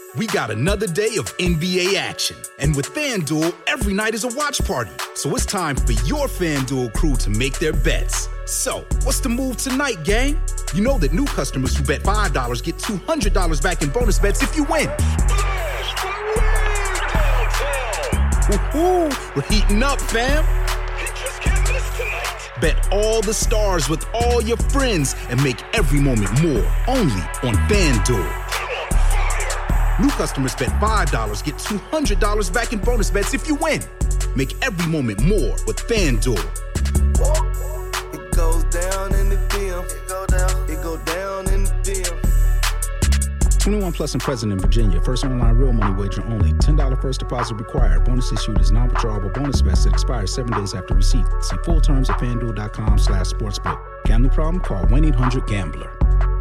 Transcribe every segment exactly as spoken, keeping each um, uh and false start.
We got another day of N B A action. And with FanDuel, every night is a watch party. So it's time for your FanDuel crew to make their bets. So, what's the move tonight, gang? You know that new customers who bet five dollars get two hundred dollars back in bonus bets if you win. Woohoo! We're heating up, fam! Bet all the stars with all your friends and make every moment more only on FanDuel. New customers bet five dollars, get two hundred dollars back in bonus bets if you win. Make every moment more with FanDuel. It goes down in the D M. It go down. It go down in the D M. twenty-one plus and present in Virginia. First online real money wager only. ten dollars first deposit required. Bonus issued is non-withdrawable bonus bets that expires seven days after receipt. See full terms at FanDuel.com slash sportsbook. Gambling problem? Call one eight hundred gambler.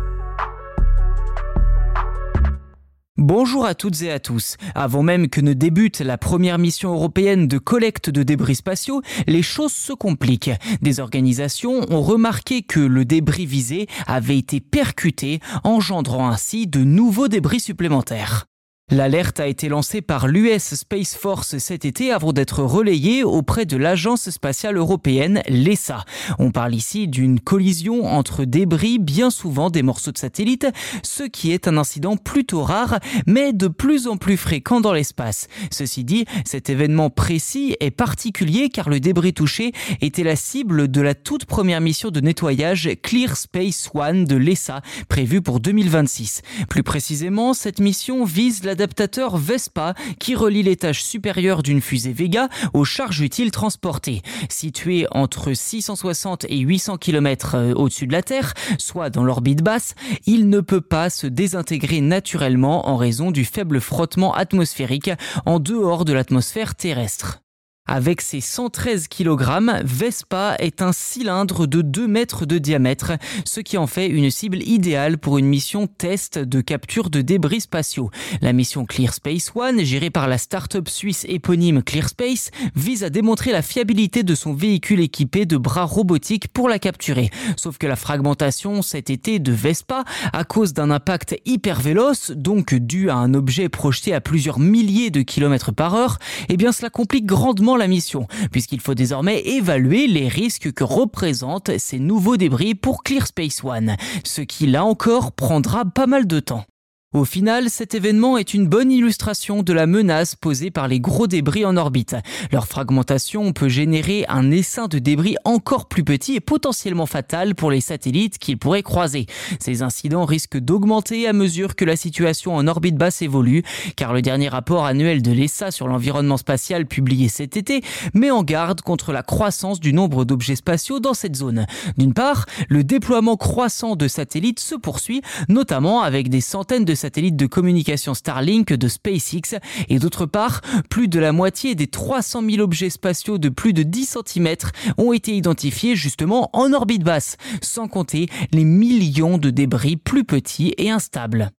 Bonjour à toutes et à tous. Avant même que ne débute la première mission européenne de collecte de débris spatiaux, les choses se compliquent. Des organisations ont remarqué que le débris visé avait été percuté, engendrant ainsi de nouveaux débris supplémentaires. L'alerte a été lancée par l'U S Space Force cet été avant d'être relayée auprès de l'Agence spatiale européenne, l'E S A. On parle ici d'une collision entre débris, bien souvent des morceaux de satellites, ce qui est un incident plutôt rare, mais de plus en plus fréquent dans l'espace. Ceci dit, cet événement précis est particulier car le débris touché était la cible de la toute première mission de nettoyage Clear Space One de l'E S A, prévue pour deux mille vingt-six. Plus précisément, cette mission vise la L'adaptateur Vespa qui relie l'étage supérieur d'une fusée Vega aux charges utiles transportées. Situé entre six cent soixante et huit cents kilomètres au-dessus de la Terre, soit dans l'orbite basse, il ne peut pas se désintégrer naturellement en raison du faible frottement atmosphérique en dehors de l'atmosphère terrestre. Avec ses cent treize kilogrammes, Vespa est un cylindre de deux mètres de diamètre, ce qui en fait une cible idéale pour une mission test de capture de débris spatiaux. La mission Clear Space One, gérée par la start-up suisse éponyme ClearSpace, vise à démontrer la fiabilité de son véhicule équipé de bras robotiques pour la capturer. Sauf que la fragmentation cet été de Vespa, à cause d'un impact hyper véloce, donc dû à un objet projeté à plusieurs milliers de kilomètres par heure, eh bien cela complique grandement la mission, puisqu'il faut désormais évaluer les risques que représentent ces nouveaux débris pour Clear Space One, ce qui là encore prendra pas mal de temps. Au final, cet événement est une bonne illustration de la menace posée par les gros débris en orbite. Leur fragmentation peut générer un essaim de débris encore plus petit et potentiellement fatal pour les satellites qu'ils pourraient croiser. Ces incidents risquent d'augmenter à mesure que la situation en orbite basse évolue, car le dernier rapport annuel de l'E S A sur l'environnement spatial publié cet été met en garde contre la croissance du nombre d'objets spatiaux dans cette zone. D'une part, le déploiement croissant de satellites se poursuit, notamment avec des centaines de satellites de communication Starlink de SpaceX, et d'autre part, plus de la moitié des trois cent mille objets spatiaux de plus de dix centimètres ont été identifiés justement en orbite basse, sans compter les millions de débris plus petits et instables.